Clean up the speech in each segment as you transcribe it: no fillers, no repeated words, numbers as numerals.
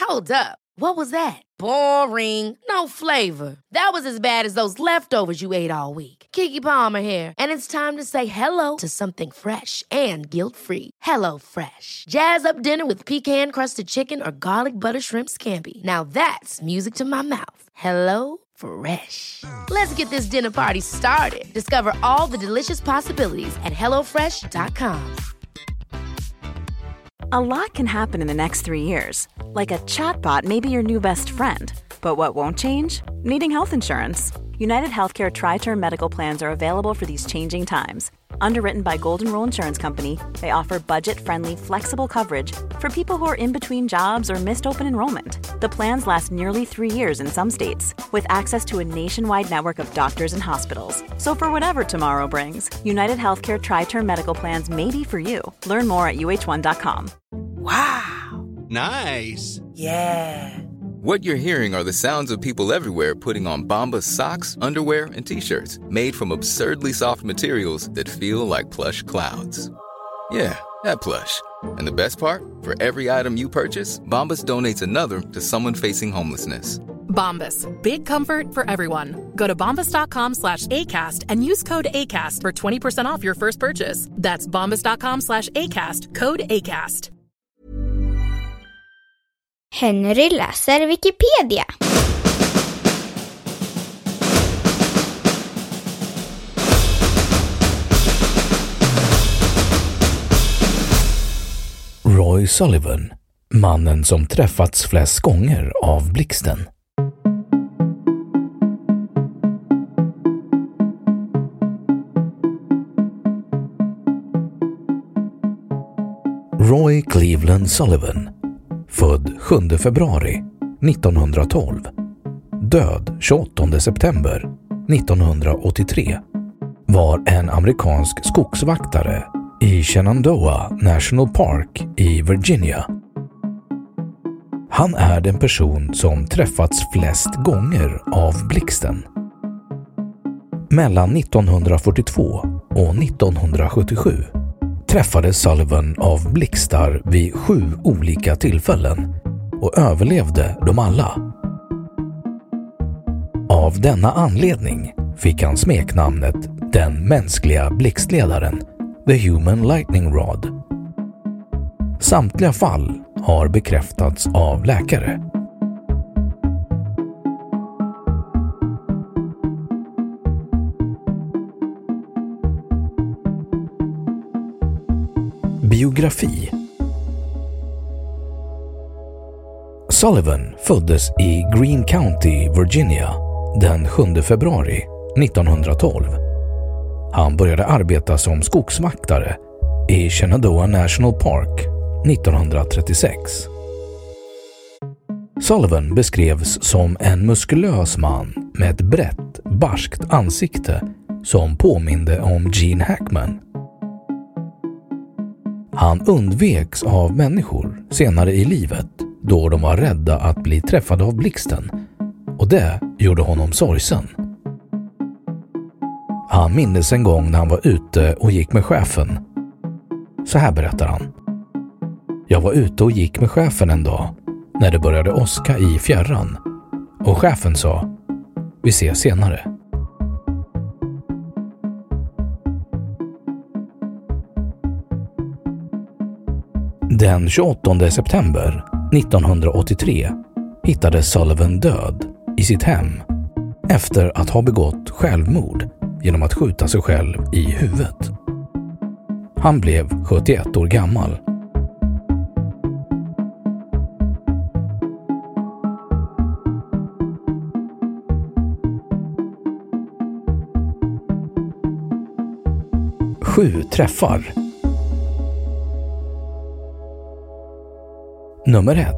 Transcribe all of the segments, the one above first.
Hold up. What was that? Boring. No flavor. That was as bad as those leftovers you ate all week. Keke Palmer here, and it's time to say hello to something fresh and guilt-free. Hello Fresh. Jazz up dinner with pecan-crusted chicken or garlic butter shrimp scampi. Now that's music to my mouth. Hello Fresh. Let's get this dinner party started. Discover all the delicious possibilities at hellofresh.com. A lot can happen in the next 3 years. Like a chatbot may be your new best friend. But what won't change? Needing health insurance. United Healthcare Tri-Term Medical Plans are available for these changing times. Underwritten by Golden Rule Insurance Company, they offer budget-friendly, flexible coverage for people who are in between jobs or missed open enrollment. The plans last nearly 3 years in some states, with access to a nationwide network of doctors and hospitals. So for whatever tomorrow brings, United Healthcare Tri-Term Medical Plans may be for you. Learn more at uh1.com. Wow. Nice. Yeah. What you're hearing are the sounds of people everywhere putting on Bombas socks, underwear, and T-shirts made from absurdly soft materials that feel like plush clouds. Yeah, that plush. And the best part? For every item you purchase, Bombas donates another to someone facing homelessness. Bombas. Big comfort for everyone. Go to bombas.com/ACAST and use code ACAST for 20% off your first purchase. That's bombas.com/ACAST. Code ACAST. Henry läser Wikipedia. Roy Sullivan, mannen som träffats flest gånger av blixten. Roy Cleveland Sullivan, född 7 februari 1912, död 28 september 1983, var en amerikansk skogsvaktare i Shenandoah National Park i Virginia. Han är den person som träffats flest gånger av blixten. Mellan 1942 och 1977 träffades Sullivan av blixtar vid 7 olika tillfällen och överlevde dem alla. Av denna anledning fick han smeknamnet den mänskliga blixtledaren, The Human Lightning Rod. Samtliga fall har bekräftats av läkare. Biografi. Sullivan föddes i Greene County, Virginia den 7 februari 1912. Han började arbeta som skogsvaktare i Shenandoah National Park 1936. Sullivan beskrevs som en muskulös man med ett brett, barskt ansikte som påminde om Gene Hackman. Han undveks av människor senare i livet då de var rädda att bli träffade av blixten, och det gjorde honom sorgsen. Han minns en gång när han var ute och gick med chefen. Så här berättar han. Jag var ute och gick med chefen en dag när det började åska i fjärran, och chefen sa: vi ses senare. Den 28 september 1983 hittades Sullivan död i sitt hem efter att ha begått självmord genom att skjuta sig själv i huvudet. Han blev 71 år gammal. Sju träffar. Nummer 1.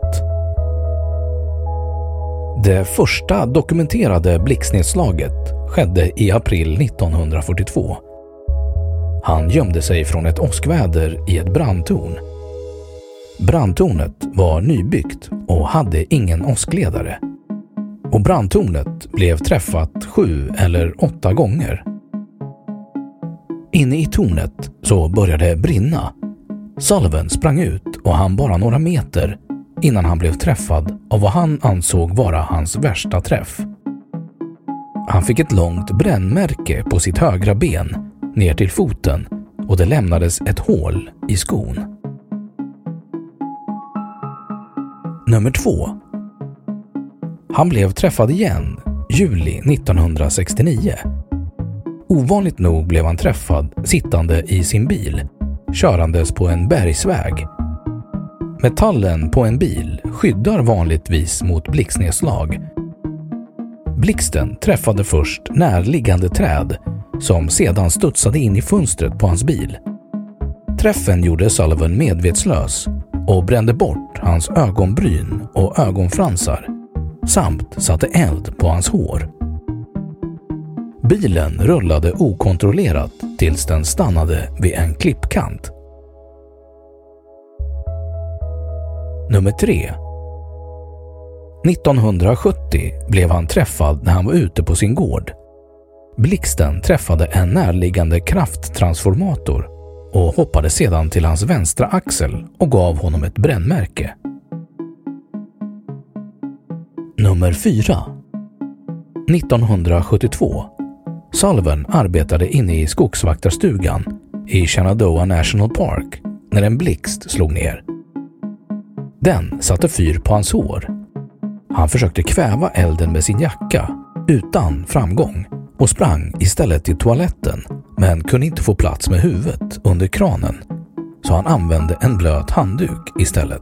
Det första dokumenterade blixtnedslaget skedde i april 1942. Han gömde sig från ett åskväder i ett brandtorn. Brandtornet var nybyggt och hade ingen åskledare. Och brandtornet blev träffat 7 eller 8 gånger. Inne i tornet så började det brinna. Sullivan sprang ut och han bara några meter innan han blev träffad av vad han ansåg vara hans värsta träff. Han fick ett långt brännmärke på sitt högra ben ner till foten och det lämnades ett hål i skon. Nummer 2. Han blev träffad igen juli 1969. Ovanligt nog blev han träffad sittande i sin bil, körandes på en bergsväg. Metallen på en bil skyddar vanligtvis mot blixtnedslag. Blixten träffade först närliggande träd som sedan studsade in i fönstret på hans bil. Träffen gjorde Sullivan medvetslös och brände bort hans ögonbryn och ögonfransar samt satte eld på hans hår. Bilen rullade okontrollerat tills den stannade vid en klippkant. Nummer 3. 1970 blev han träffad när han var ute på sin gård. Blixten träffade en närliggande krafttransformator och hoppade sedan till hans vänstra axel och gav honom ett brännmärke. Nummer 4. 1972. Sullivan arbetade inne i skogsvaktarstugan i Shenandoah National Park när en blixt slog ner. Den satte fyr på hans hår. Han försökte kväva elden med sin jacka utan framgång och sprang istället till toaletten men kunde inte få plats med huvudet under kranen, så han använde en blöt handduk istället.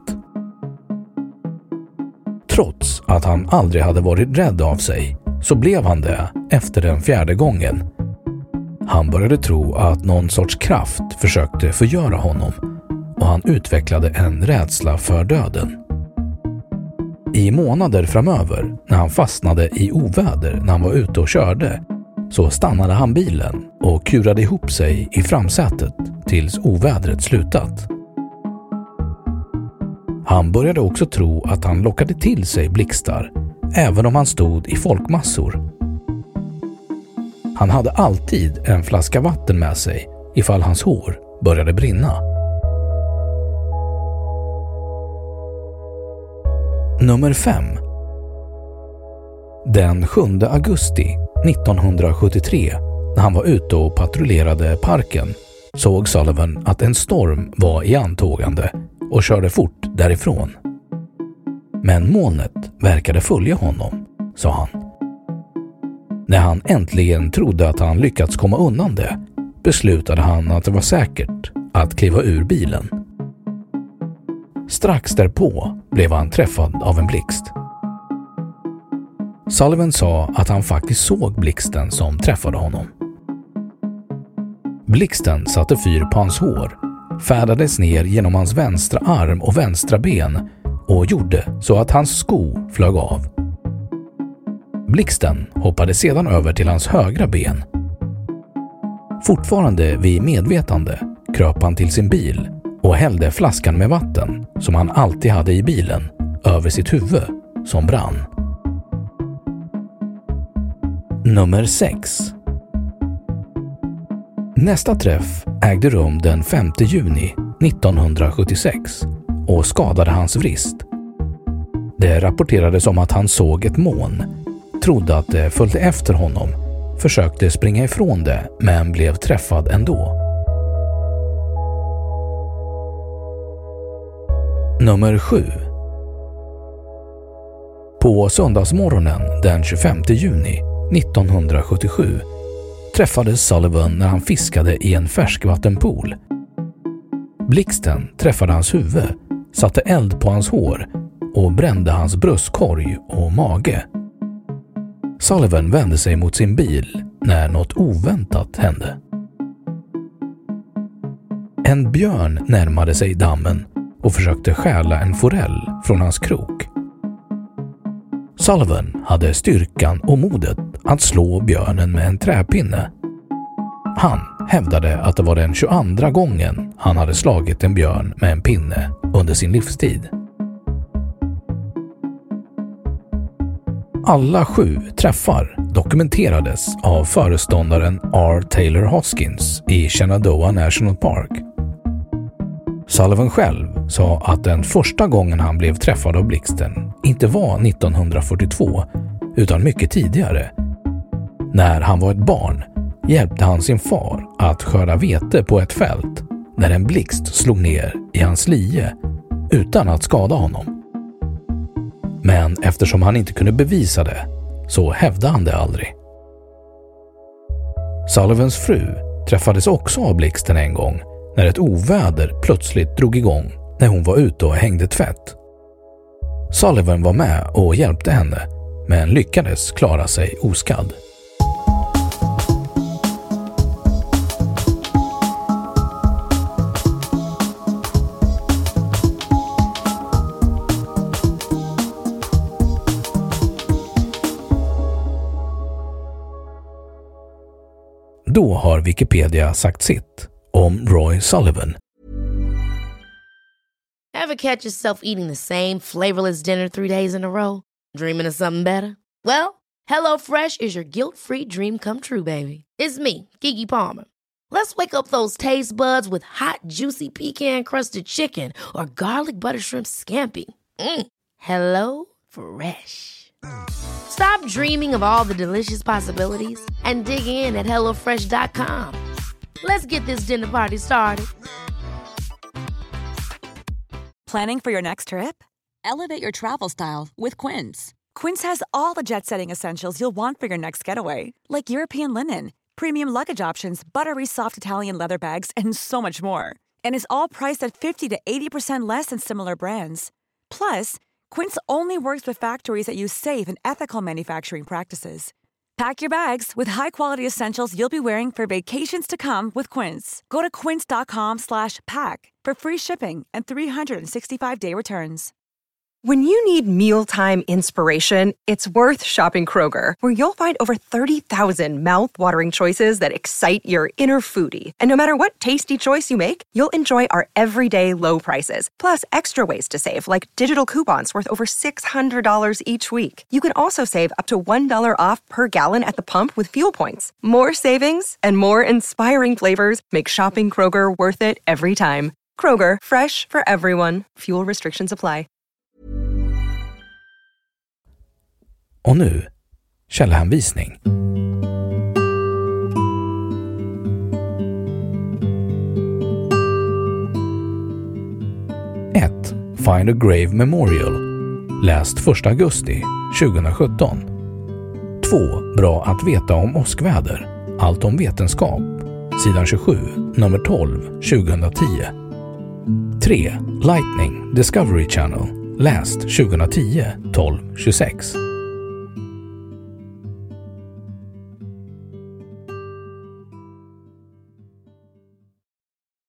Trots att han aldrig hade varit rädd av sig så blev han det efter den 4:e gången. Han började tro att någon sorts kraft försökte förgöra honom och han utvecklade en rädsla för döden. I månader framöver, när han fastnade i oväder när han var ute och körde, så stannade han bilen och kurade ihop sig i framsätet tills ovädret slutat. Han började också tro att han lockade till sig blixtar, även om han stod i folkmassor. Han hade alltid en flaska vatten med sig ifall hans hår började brinna. Nummer 5. Den 7 augusti 1973, när han var ute och patrullerade parken, såg Sullivan att en storm var i antågande och körde fort därifrån. Men molnet verkade följa honom, sa han. När han äntligen trodde att han lyckats komma undan det, beslutade han att det var säkert att kliva ur bilen. Strax därpå blev han träffad av en blixt. Sullivan sa att han faktiskt såg blixten som träffade honom. Blixten satte fyr på hans hår, färdades ner genom hans vänstra arm och vänstra ben och gjorde så att hans sko flög av. Blixten hoppade sedan över till hans högra ben. Fortfarande vid medvetande kröp han till sin bil och hällde flaskan med vatten som han alltid hade i bilen över sitt huvud som brann. Nummer 6. Nästa träff ägde rum den 5 juni 1976 och skadade hans vrist. Det rapporterades om att han såg ett moln, trodde att det följde efter honom, försökte springa ifrån det men blev träffad ändå. Nummer 7. På söndagsmorgonen den 25 juni 1977 träffades Sullivan när han fiskade i en färskvattenpool. Blixten träffade hans huvud, satte eld på hans hår och brände hans bröstkorg och mage. Sullivan vände sig mot sin bil när något oväntat hände. En björn närmade sig dammen och försökte stjäla en forell från hans krok. Sullivan hade styrkan och modet att slå björnen med en träpinne. Han hävdade att det var den 22:a gången han hade slagit en björn med en pinne under sin livstid. Alla 7 träffar dokumenterades av föreståndaren R. Taylor Hoskins i Shenandoah National Park. Sullivan själv sa att den första gången han blev träffad av blixten inte var 1942 utan mycket tidigare. När han var ett barn hjälpte han sin far att skörda vete på ett fält när en blixt slog ner i hans lie utan att skada honom. Men eftersom han inte kunde bevisa det så hävdade han det aldrig. Sullivans fru träffades också av blixten en gång när ett oväder plötsligt drog igång när hon var ute och hängde tvätt. Sullivan var med och hjälpte henne men lyckades klara sig oskadd. Då har Wikipedia sagt sitt om Roy Sullivan. Ever catch yourself eating the same flavorless dinner 3 days in a row? Dreaming of something better? Well, HelloFresh is your guilt-free dream come true, baby. It's me, Keke Palmer. Let's wake up those taste buds with hot, juicy pecan-crusted chicken or garlic butter shrimp scampi. Hello Fresh. Stop dreaming of all the delicious possibilities and dig in at HelloFresh.com. Let's get this dinner party started. Planning for your next trip? Elevate your travel style with Quince. Quince has all the jet-setting essentials you'll want for your next getaway, like European linen, premium luggage options, buttery soft Italian leather bags, and so much more. And is all priced at 50 to 80% less than similar brands. Plus, Quince only works with factories that use safe and ethical manufacturing practices. Pack your bags with high-quality essentials you'll be wearing for vacations to come with Quince. Go to quince.com/pack for free shipping and 365-day returns. When you need mealtime inspiration, it's worth shopping Kroger, where you'll find over 30,000 mouth-watering choices that excite your inner foodie. And no matter what tasty choice you make, you'll enjoy our everyday low prices, plus extra ways to save, like digital coupons worth over $600 each week. You can also save up to $1 off per gallon at the pump with fuel points. More savings and more inspiring flavors make shopping Kroger worth it every time. Kroger, fresh for everyone. Fuel restrictions apply. Och nu, källhänvisning. 1. Find a Grave Memorial. Läst 1 augusti 2017. 2. Bra att veta om åskväder. Allt om vetenskap. Sidan 27, nummer 12, 2010. 3. Lightning, Discovery Channel. Läst 2010, 12-26.